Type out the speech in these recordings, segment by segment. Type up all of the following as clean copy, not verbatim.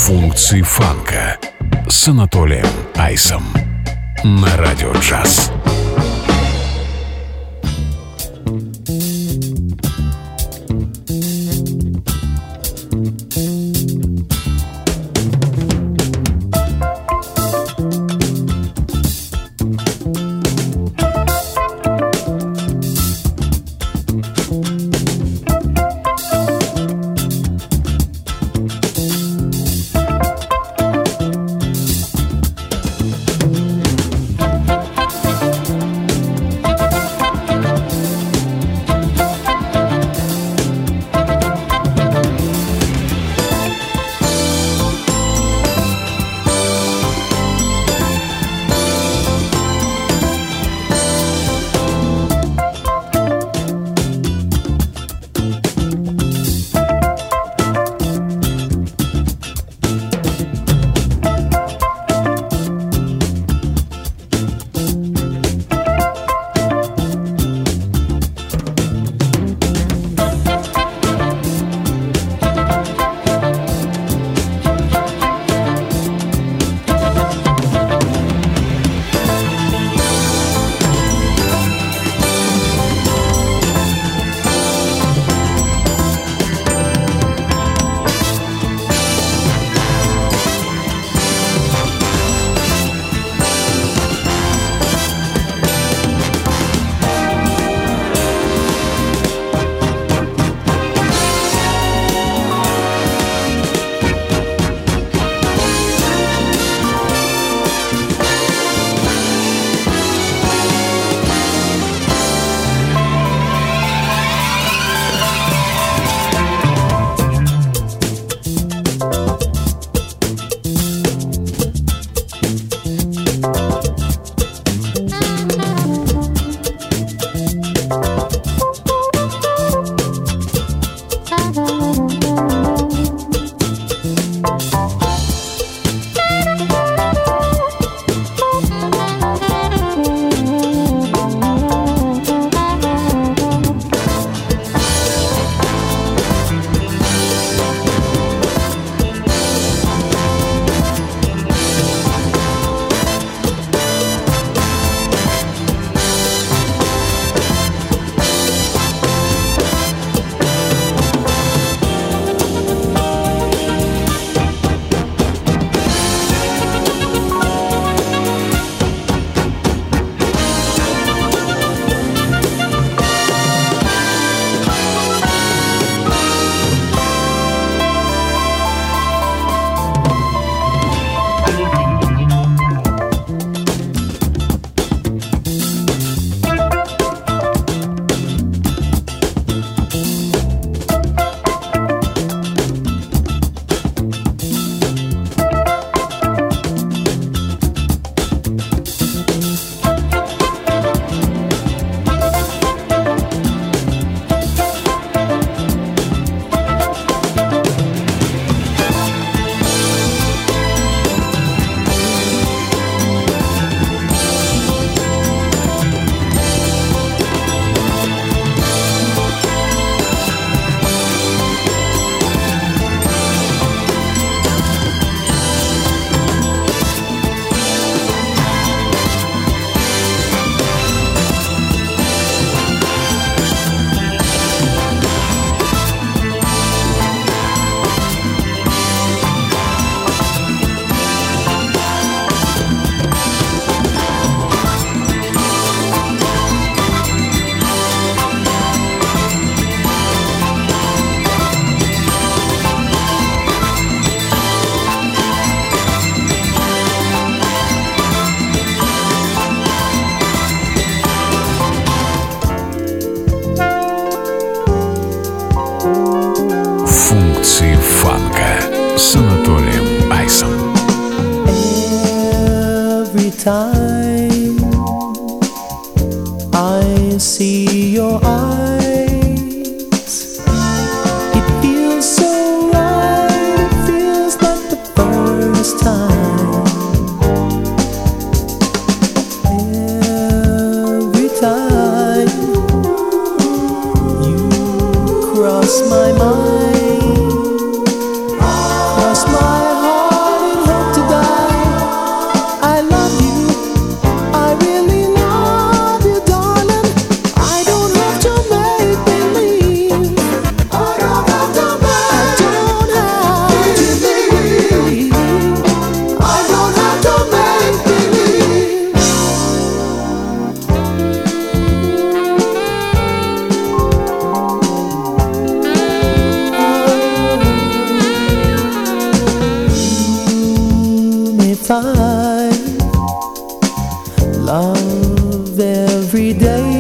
Функции фанка с Анатолием Айсом на Радио Джаз. С Анатолием Айсом. Every time I see your eyes, it feels so right, it feels like the first time. Every time you cross my mind, cross my heart. find love every day.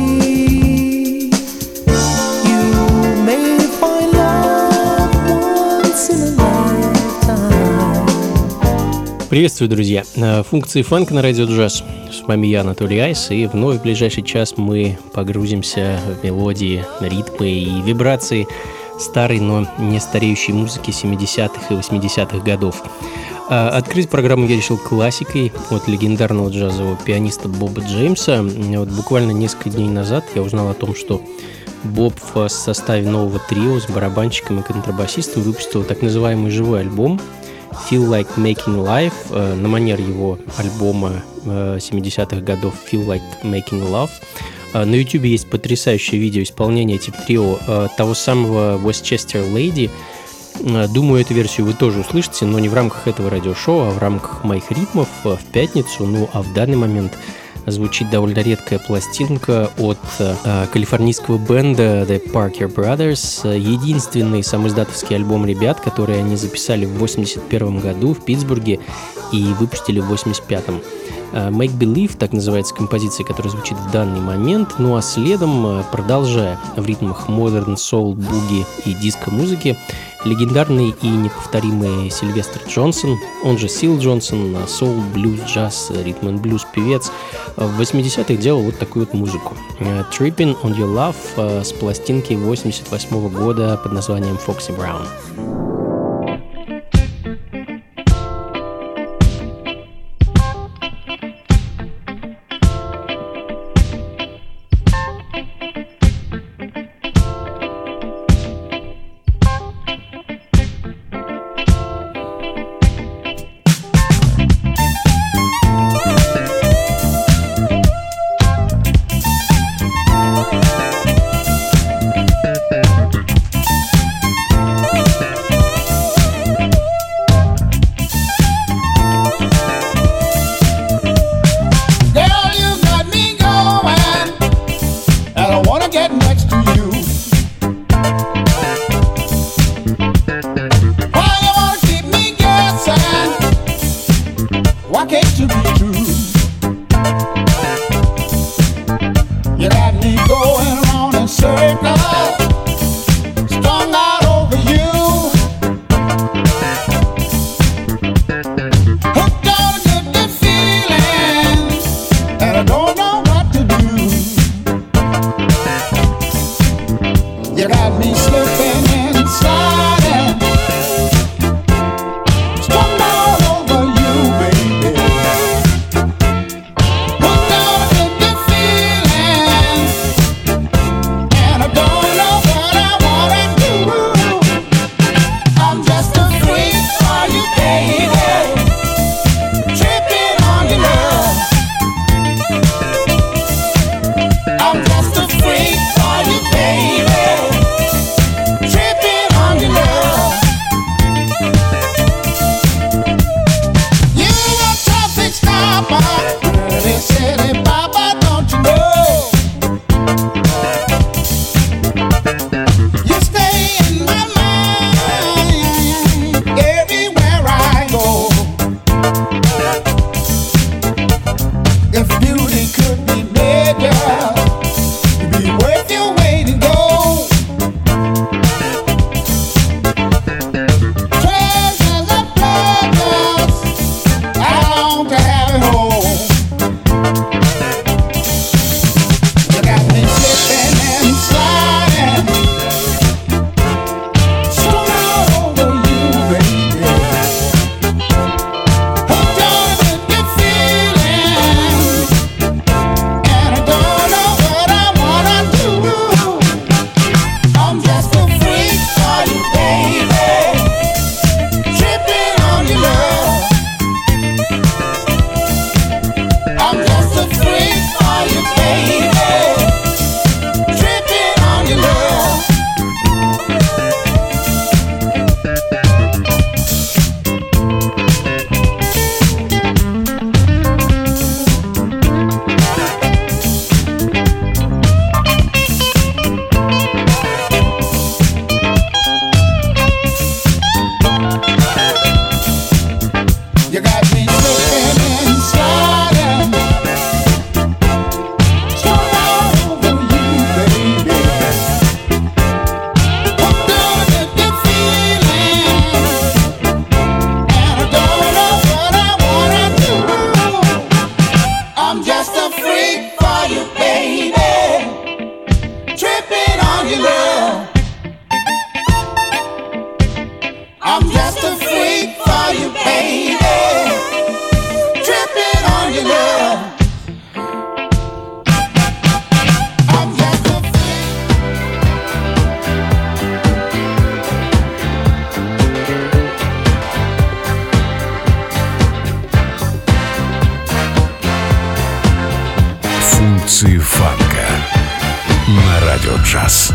You may find love once in a lifetime. Приветствую, друзья! Функции фанка на радио джаз. С вами я, Анатолий Айс, и вновь в ближайший час мы погрузимся в мелодии, ритмы и вибрации старой, но не стареющей музыки 70-х и 80-х годов. Открыть программу я решил классикой от легендарного джазового пианиста Боба Джеймса. Вот буквально несколько дней назад я узнал о том, что Боб в составе нового трио с барабанщиком и контрабасистом выпустил так называемый живой альбом Feel Like Making Life, на манер его альбома 70-х годов Feel Like Making Love. На YouTube есть потрясающее видео исполнения типа трио того самого Westchester Lady. Думаю, эту версию вы тоже услышите, но не в рамках этого радиошоу, а в рамках моих ритмов в пятницу. Ну, а в данный момент звучит довольно редкая пластинка от калифорнийского бенда The Parker Brothers. Единственный самоиздатовский альбом ребят, который они записали в 1981 году в Питтсбурге и выпустили в 1985. Make Believe, так называется композиция, которая звучит в данный момент. Ну а следом, продолжая в ритмах Modern Soul, Boogie и диско-музыки, легендарный и неповторимый Сильвестр Джонсон, он же Сил Джонсон, соул, блюз, джаз, ритм and блюз певец, в 80-х делал вот такую вот музыку. Trippin' on Your Love с пластинки 88 года под названием Foxy Brown. Функции фанка на Радио Джаз.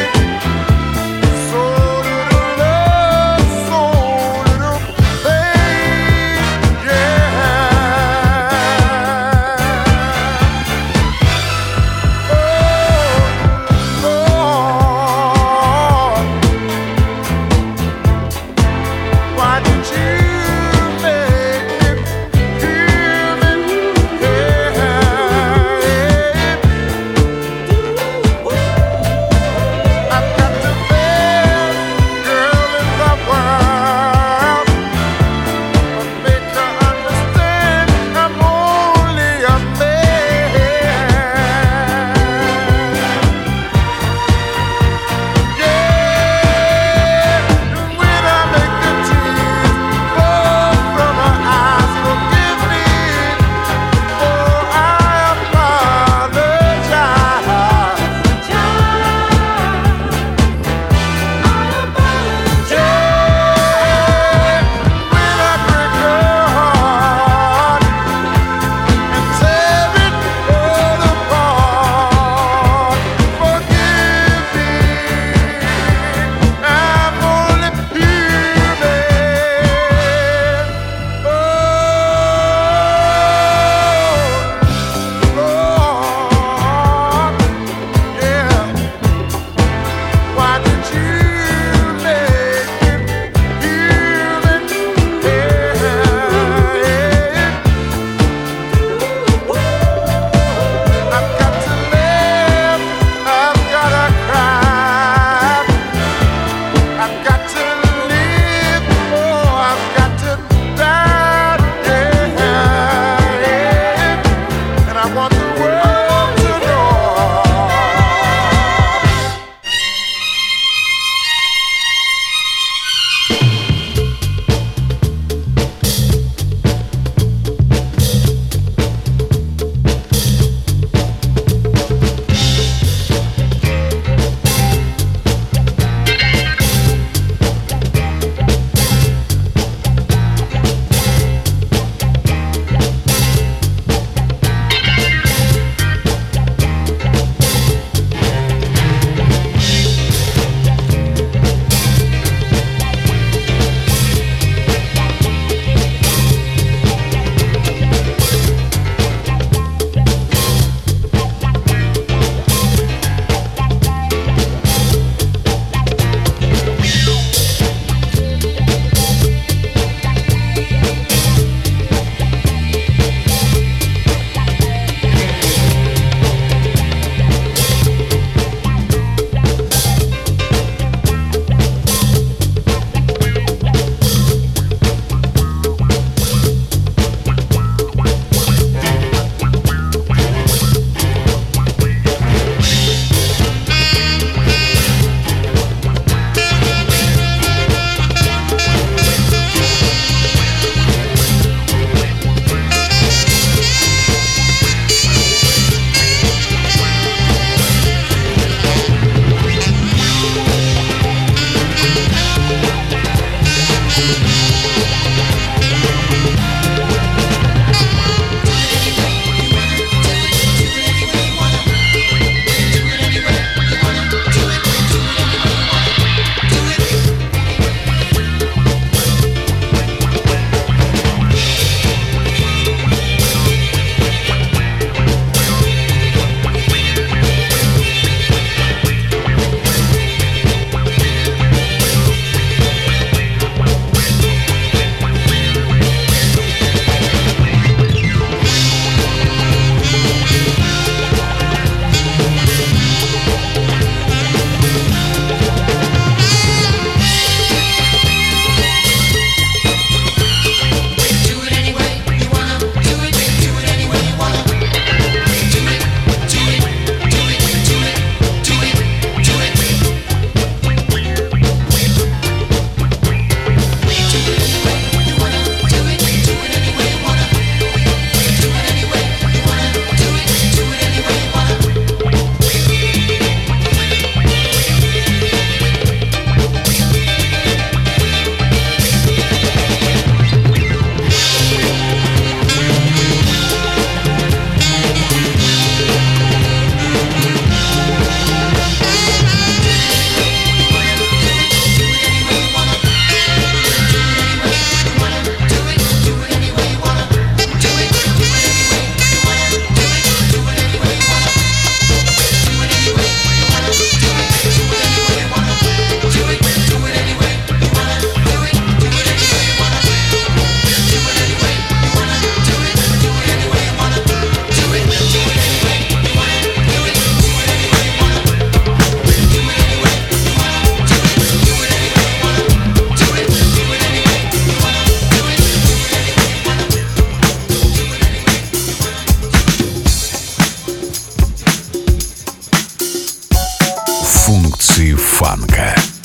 So little love, so little faith.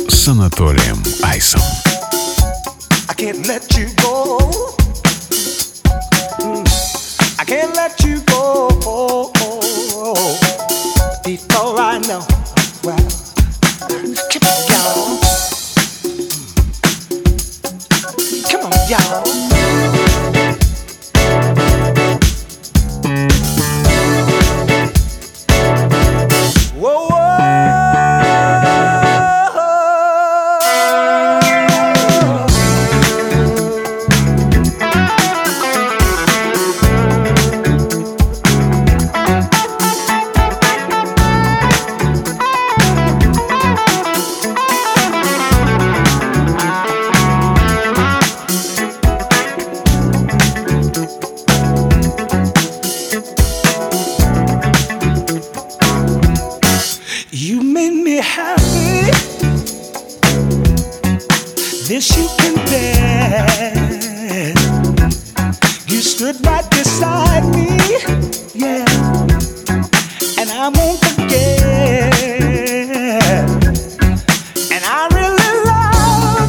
с Анатолием Айсом. I can't let you go. I can't let you go before I know. Well, come on, y'all. Come on, y'all. Whoa, whoa. You made me happy. This you can bet. You stood right beside me, yeah, and I won't forget. And I really love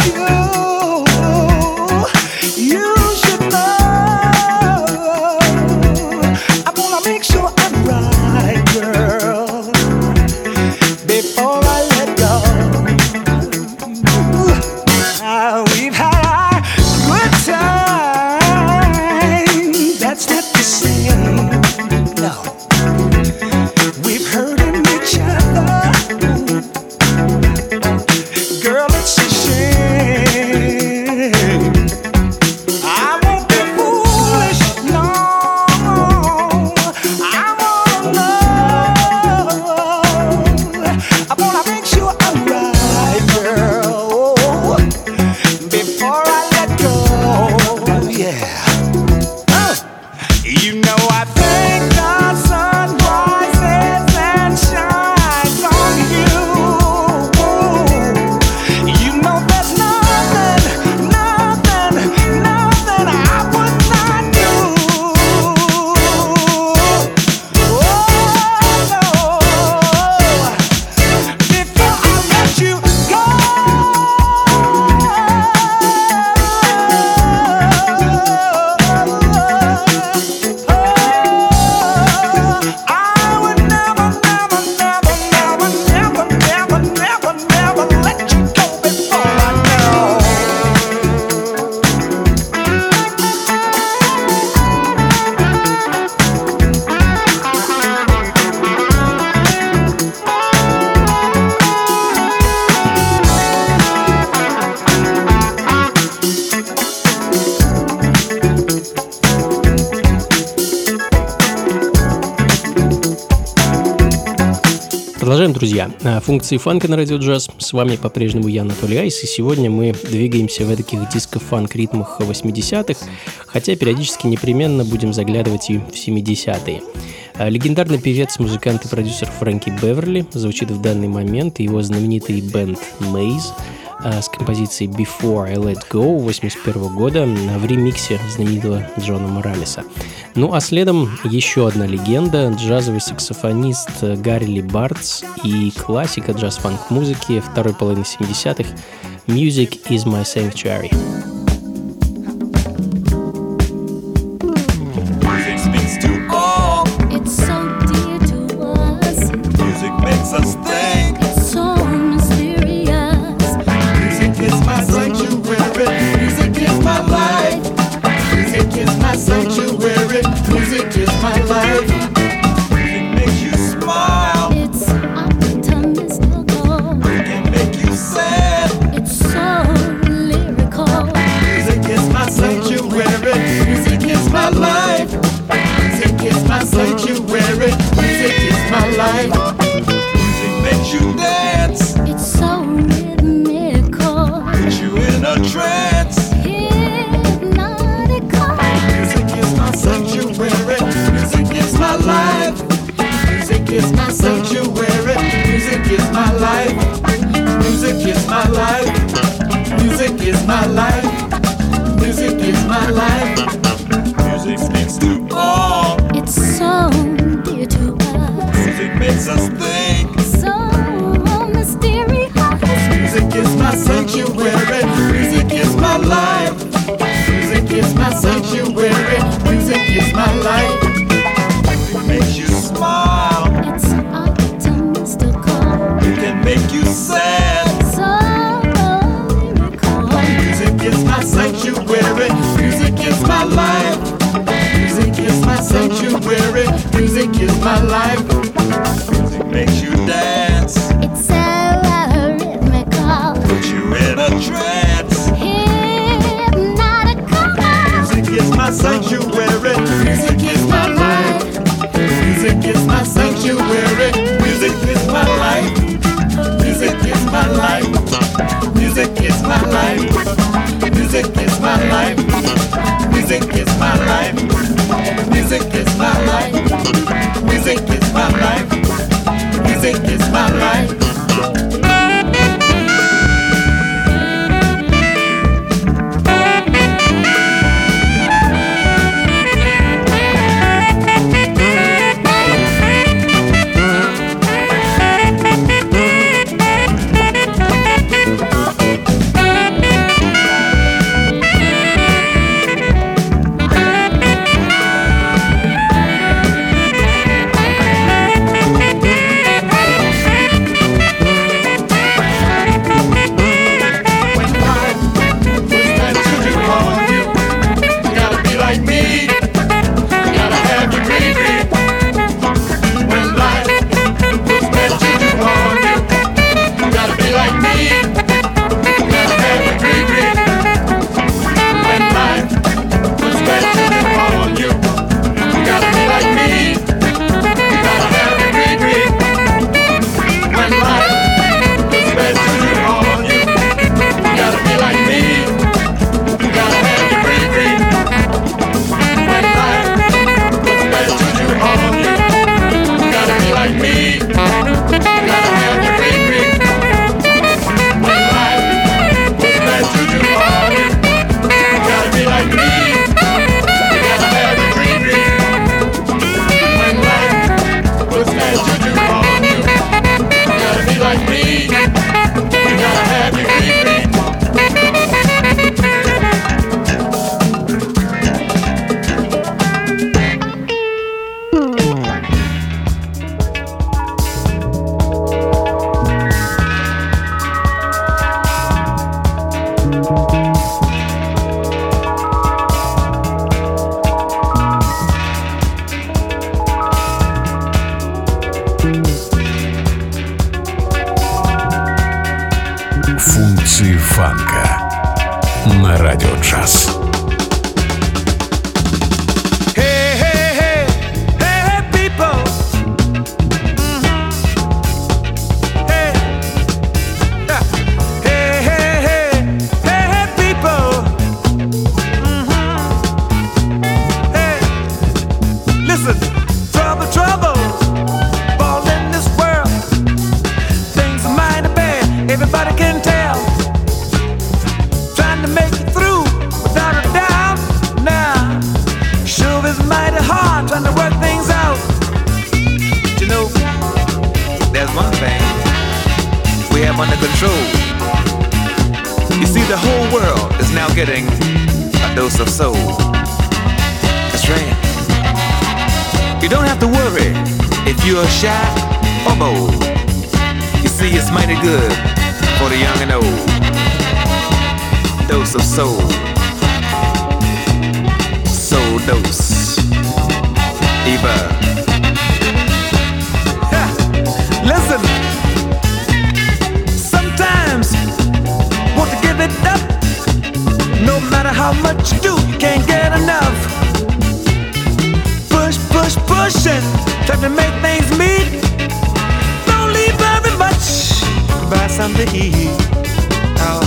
you. You should know. I wanna make sure I'm right, girl, before I let go. We've had our good time. That's not the same. No, we've hurting each other. Girl, it's a shame. I won't be foolish, no. I wanna know. I wanna make sure I'm right, girl, before I let go. Yeah. You know I think the sun rises and shines on you. You know there's nothing I would not do. Oh no, before I let you go. I would never let you go before I know. Продолжаем, друзья. Функции фанка на радио джаз. С вами по-прежнему я, Анатолий Айс, и сегодня мы двигаемся в таких диско-фанк ритмах 80-х, хотя периодически непременно будем заглядывать и в 70-е. Легендарный певец, музыкант и продюсер Фрэнки Беверли звучит в данный момент, и его знаменитый бэнд Maze с композицией Before I Let Go 1981 года в ремиксе знаменитого Джона Моралеса. Ну а следом еще одна легенда, джазовый саксофонист Гарри Ли Бартс и классика джаз-фанк-музыки второй половины 70-х «Music is my sanctuary». Music speaks to all. It's so dear to us. Music makes us think. It's so mysterious. Music is my sanctuary. Music is my life. Music is my sanctuary. Music is my life. Music makes you smile. It's optimistic. It can make you sad. It's so lyrical. Music makes you dance, It's so rhythmical, puts you in a trance. hypnotical. Music is my sanctuary. Music is my life. Music is my sanctuary. Music is my life. Music is my life. Music is my life. Music is my life. Music is my life. Music is my life. Music is my life. Music is my life. Функции фанка на радио джаз. Hey, hey, hey, hey, hey, people. Hey. Ha. Hey, hey, hey, hey, hey, people. Hey. Listen, trouble, trouble. All in this world. Things are mighty bad. Everybody can tell. Trying to make it through without a doubt. Now, sure is mighty hard trying to work things out. But you know, there's one thing we have under control. You see, the whole world is now getting a dose of soul. That's right. You don't have to worry if you're shy or bold. You see, it's mighty good for the young and old. Dose of soul. Soul dose. Eva. Ha. Listen. Sometimes want to give it up. No matter how much you do, you can't get enough. Push, push, pushing, trying to make things meet. Don't leave very much. Buy something to eat. Oh.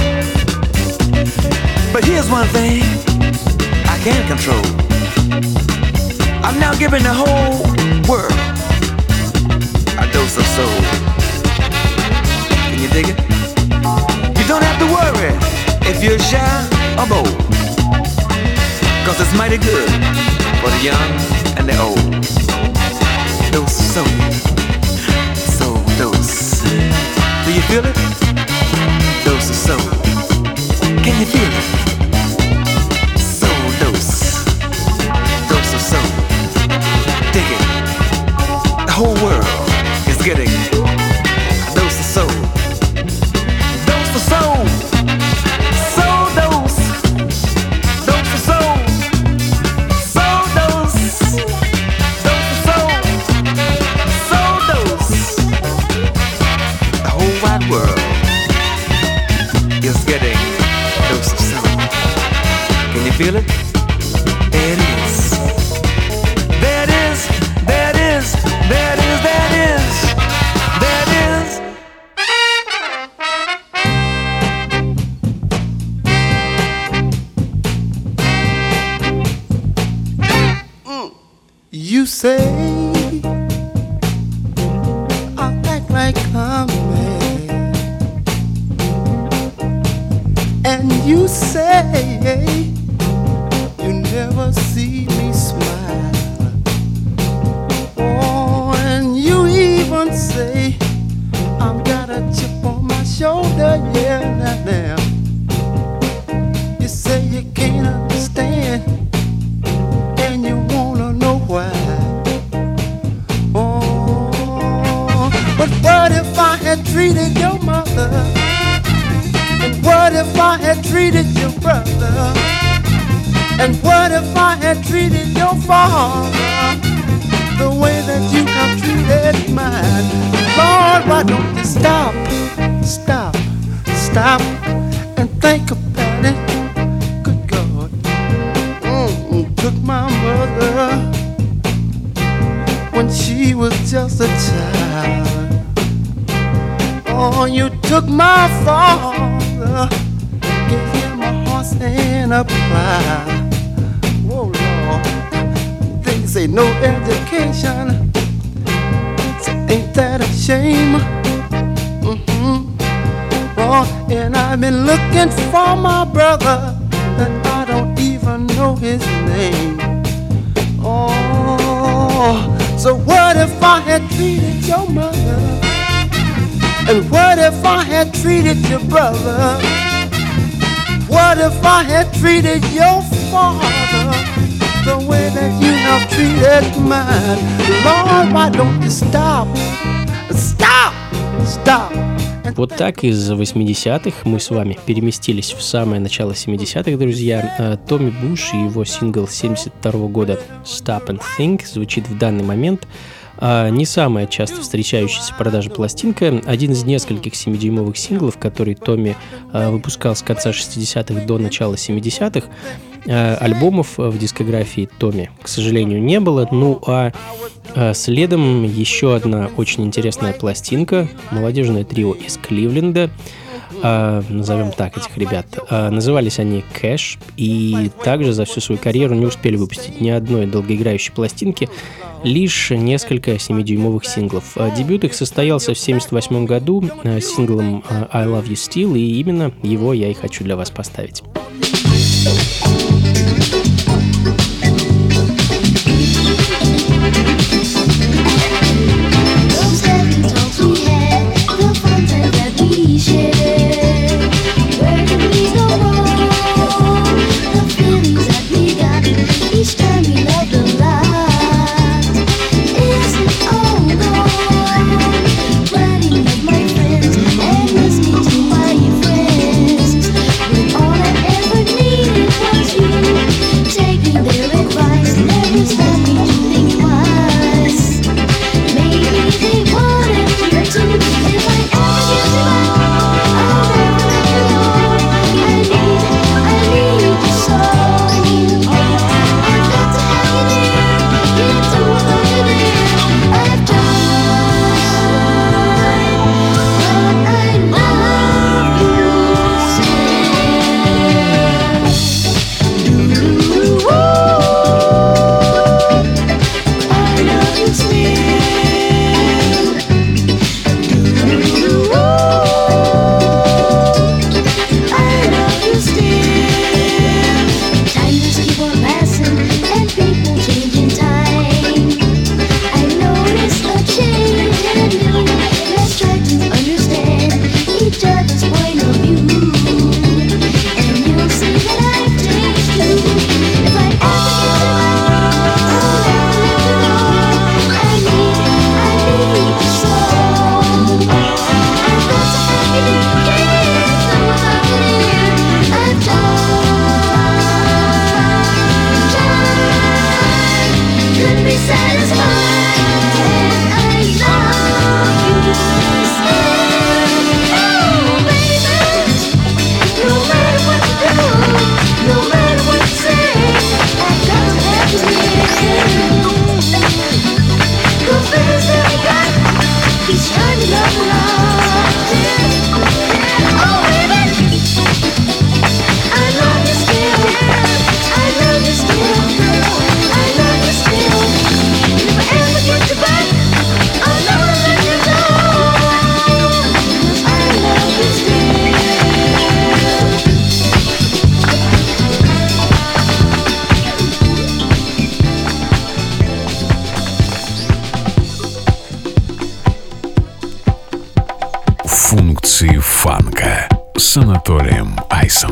But here's one thing I can control. I'm now giving the whole world a dose of soul. Can you dig it? You don't have to worry if you're shy or bold, 'cause it's mighty good for the young and the old. Dose of soul. Soul dose. Do you feel it? Dose of soul. Can you feel it? Soul dose. Dose of soul. Dig it. The whole world is getting a dose of soul. Dose of soul. Soul dose. Dose of soul. Soul dose. Dose of soul. Soul But what if I had treated your mother? And what if I had treated your brother? And what if I had treated your father the way that you have treated mine? Lord, why don't you stop and think about it? Good God, took my mother when she was just a child. Oh, you took my father, gave him a horse and a plow. Oh Lord, they say no education, so ain't that a shame? Oh, and I've been looking for my brother, and I don't even know his name. Oh, so what if I had treated your mother? And what if I had treated your brother? What if I had treated your father the way that you have treated mine? Lord, why don't you stop? Вот так из 80-х мы с вами переместились в самое начало 70-х, друзья. Томми Буш и его сингл 72 года «Stop and Think» звучит в данный момент. Не самая часто встречающаяся в продаже пластинка, один из нескольких 7-дюймовых синглов, который Томми выпускал с конца 60-х до начала 70-х. Альбомов в дискографии Томми, к сожалению, не было. Ну а следом еще одна очень интересная пластинка, молодежное трио из Кливленда. Назовем так этих ребят. Назывались они Cash, и также за всю свою карьеру не успели выпустить ни одной долгоиграющей пластинки, лишь несколько 7-дюймовых синглов. Дебют их состоялся в 1978 году синглом I Love You Still, и именно его я и хочу для вас поставить. Функции фанка с Анатолием Айсом.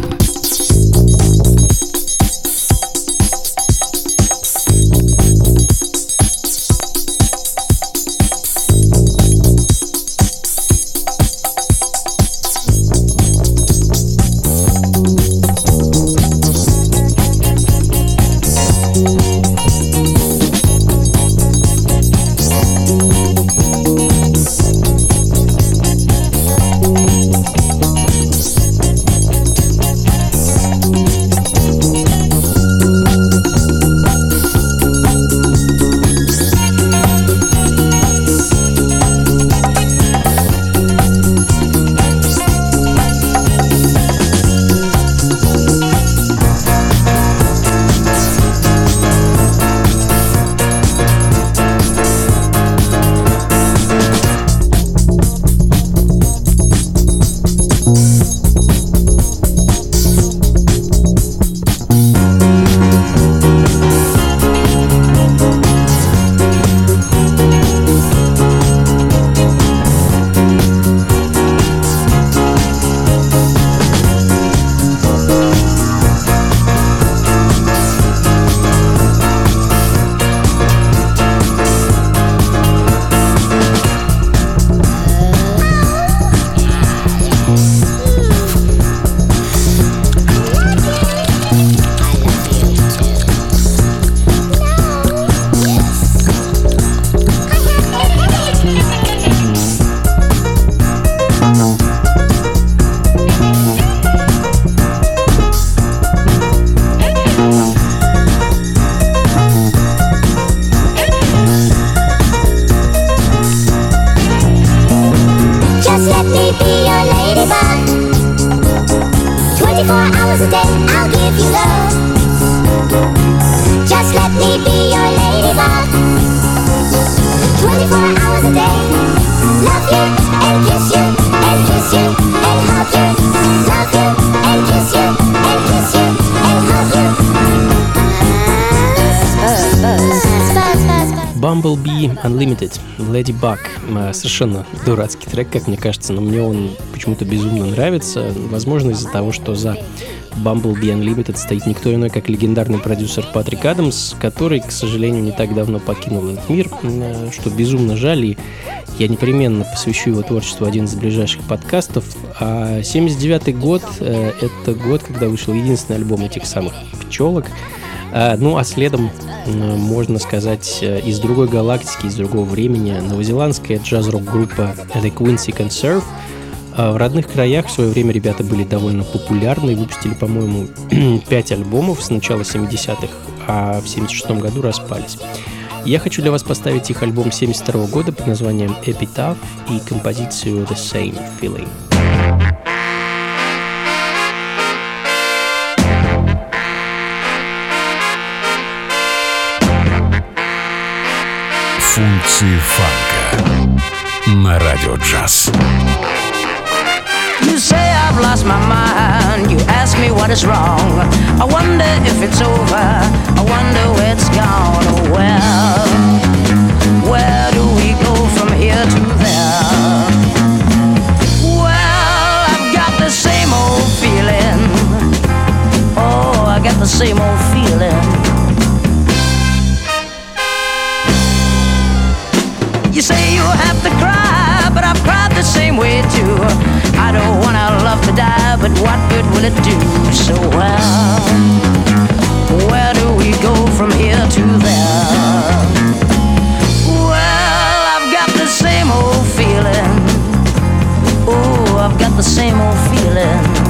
if you love. Just let me be your ladybug. 24 hours a day. Love you and kiss you and kiss you and hug you. Love you and kiss you and kiss you and hug you. Bumblebee Unlimited, Lady Bug. Совершенно дурацкий трек, как мне кажется, но мне он почему-то безумно нравится. Возможно, из-за того, что за Bumblebee Unlimited стоит никто иной, как легендарный продюсер Патрик Адамс, который, к сожалению, не так давно покинул этот мир, что безумно жаль, и я непременно посвящу его творчеству один из ближайших подкастов. А 79-й год — это год, когда вышел единственный альбом этих самых пчелок. Ну, а следом, можно сказать, из другой галактики, из другого времени, новозеландская джаз-рок-группа The Quincy Conserve. В родных краях в свое время ребята были довольно популярны и выпустили, по-моему, 5 альбомов с начала 70-х, а в 76-м году распались. Я хочу для вас поставить их альбом 72-го года под названием Epitaph и композицию The Same Feeling. Функции фанка на радио джаз. You say I've lost my mind. You ask me what is wrong. I wonder if it's over. I wonder where it's gone. Oh, where do we go from here to there? Well, I've got the same old feeling. Oh, I got the same old feeling. You say you have to cry, but I've cried the same way too. I don't wanna love to die, but what good will it do? So where do we go from here to there? Well, I've got the same old feeling. Oh, I've got the same old feeling.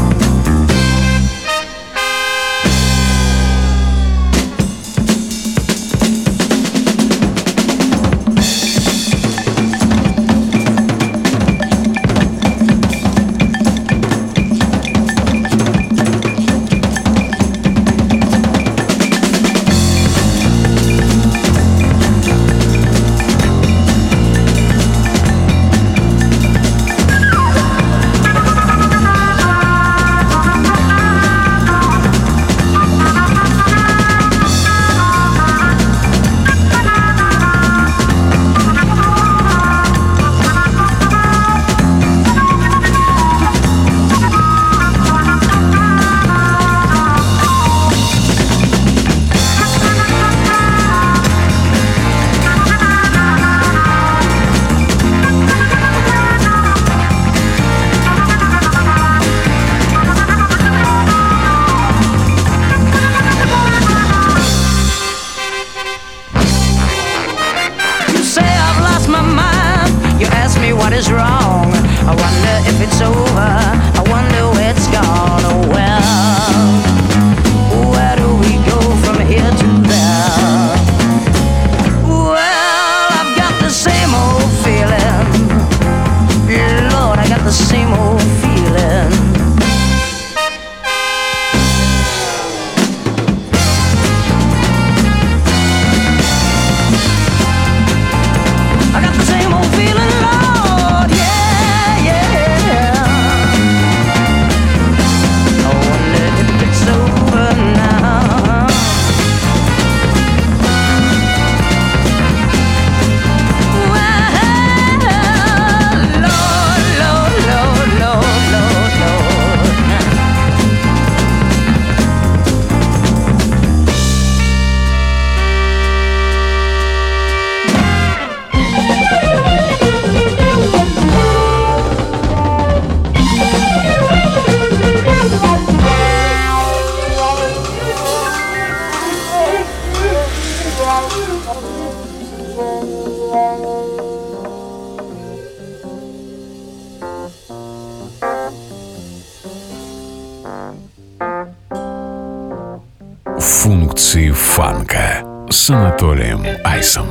Функции фанка с Анатолием Айсом.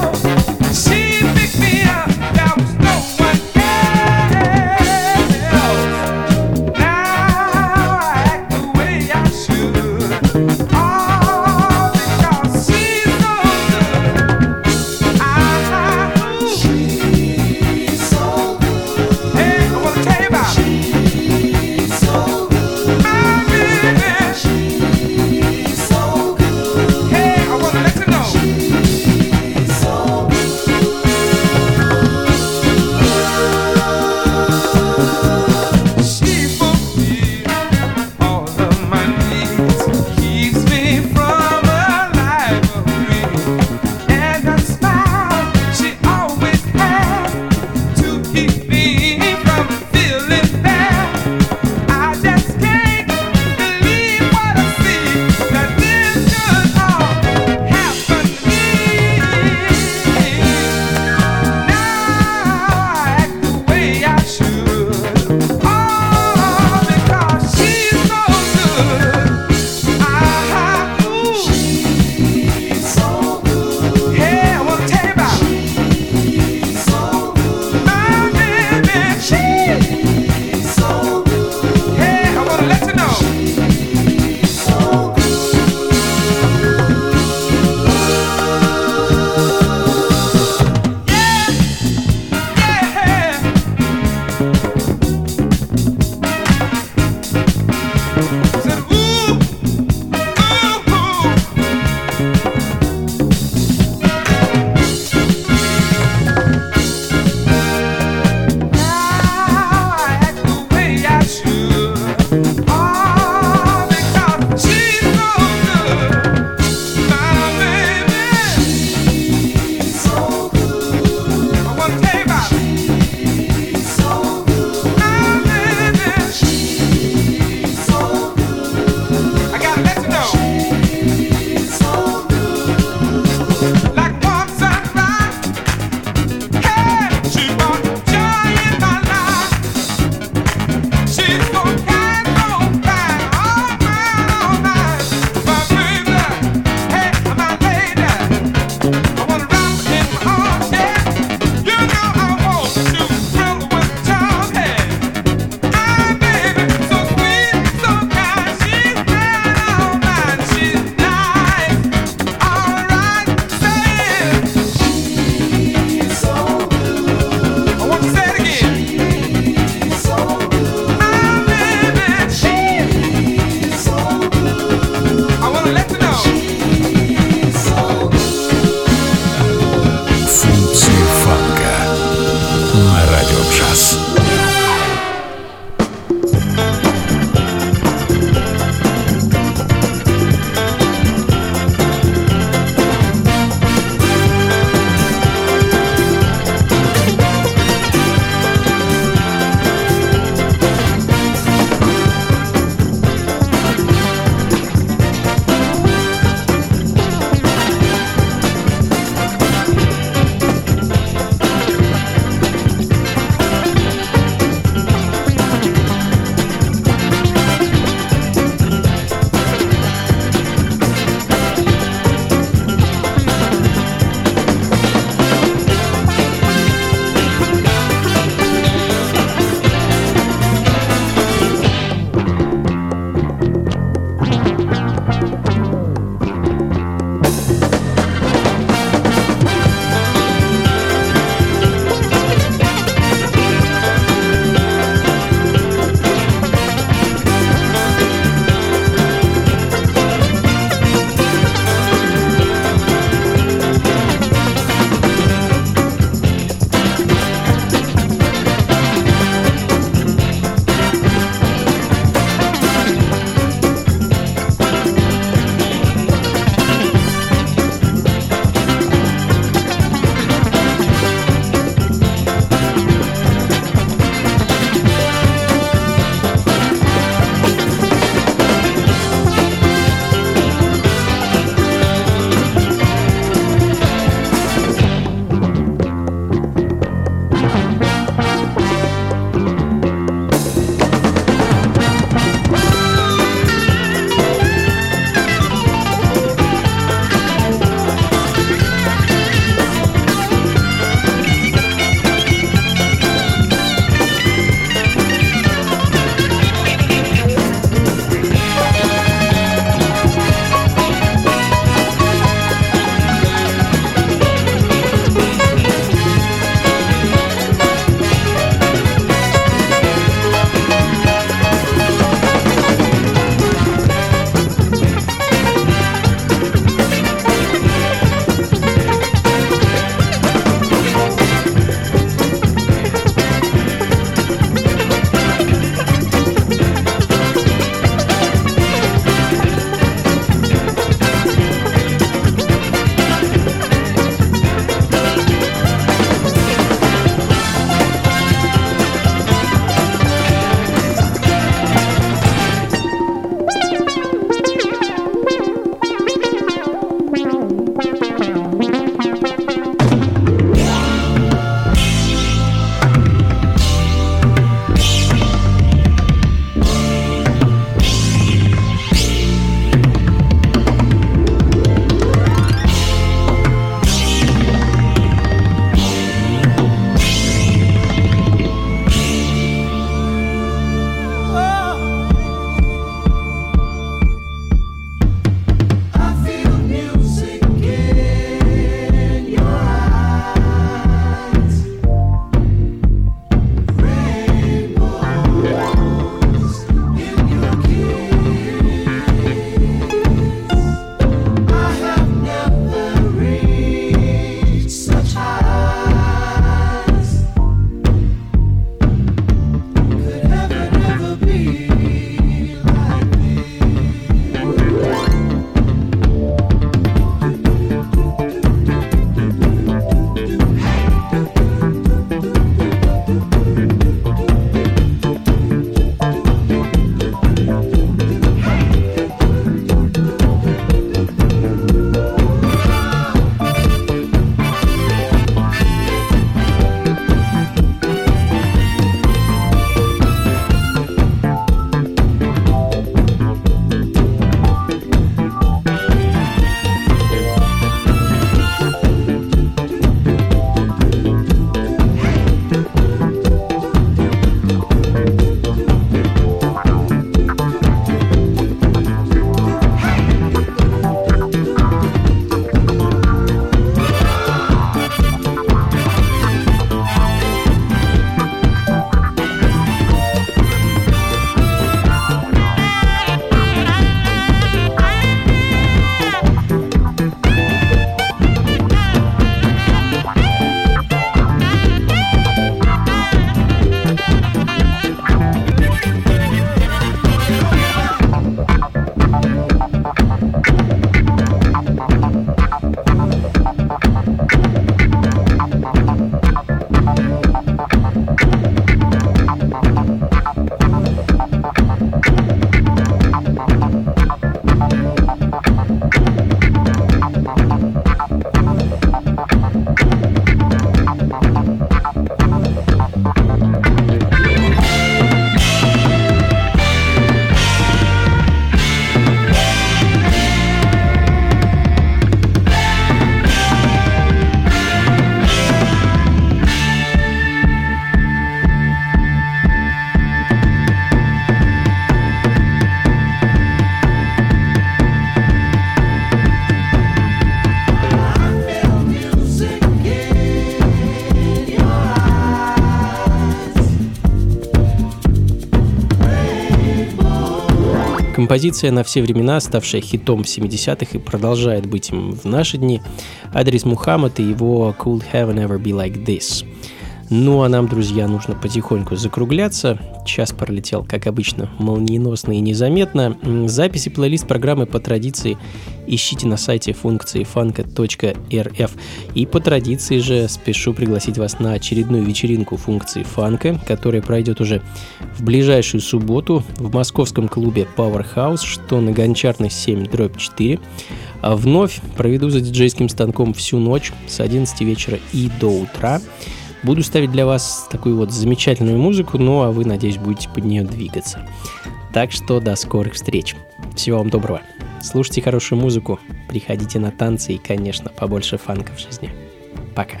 Композиция на все времена, ставшая хитом в 70-х и продолжает быть им в наши дни. Адрес Мухаммад и его «Could Heaven Ever Be Like This». Ну а нам, друзья, нужно потихоньку закругляться. Час пролетел, как обычно, молниеносно и незаметно. Записи плейлист программы по традиции ищите на сайте функции фанка.рф. И по традиции же спешу пригласить вас на очередную вечеринку функции фанка, которая пройдет уже в ближайшую субботу в московском клубе Powerhouse, что на Гончарной 7/4. А вновь проведу за диджейским станком всю ночь с 11 вечера и до утра. Буду ставить для вас такую вот замечательную музыку, ну а вы, надеюсь, будете под нее двигаться. Так что до скорых встреч. Всего вам доброго. Слушайте хорошую музыку, приходите на танцы и, конечно, побольше фанка в жизни. Пока.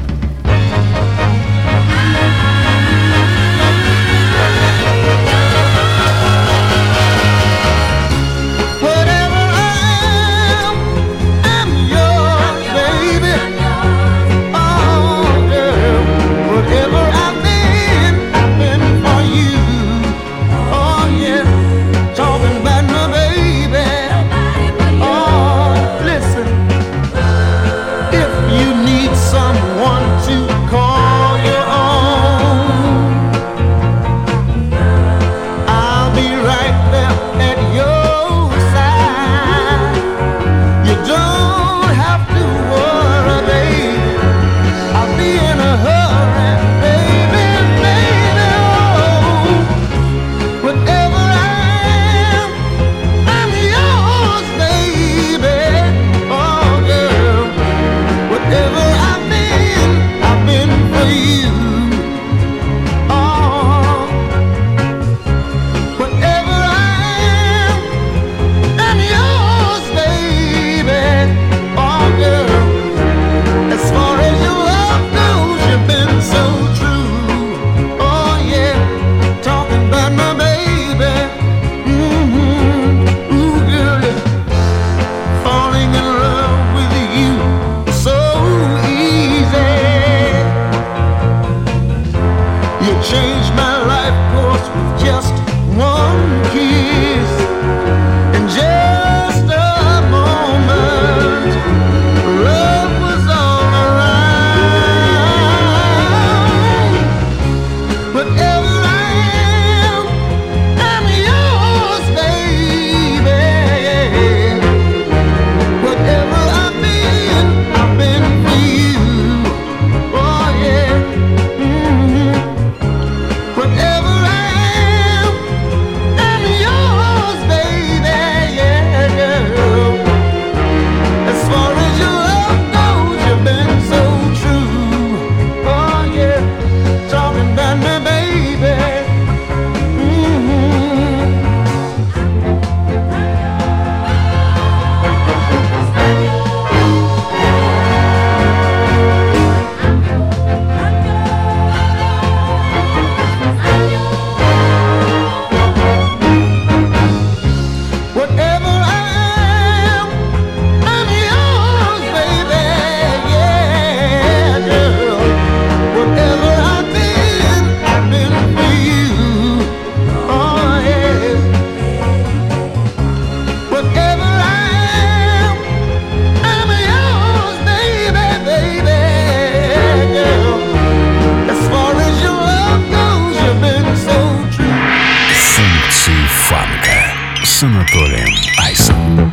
с Анатолием Айсом.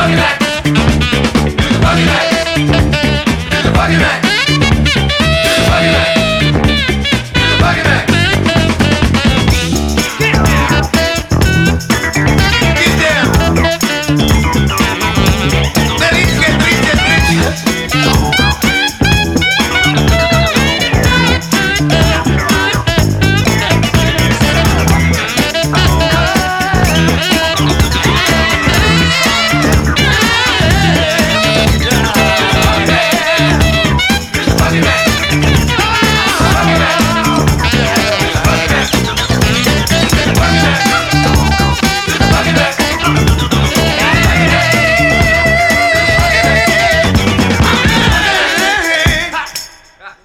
Rock that.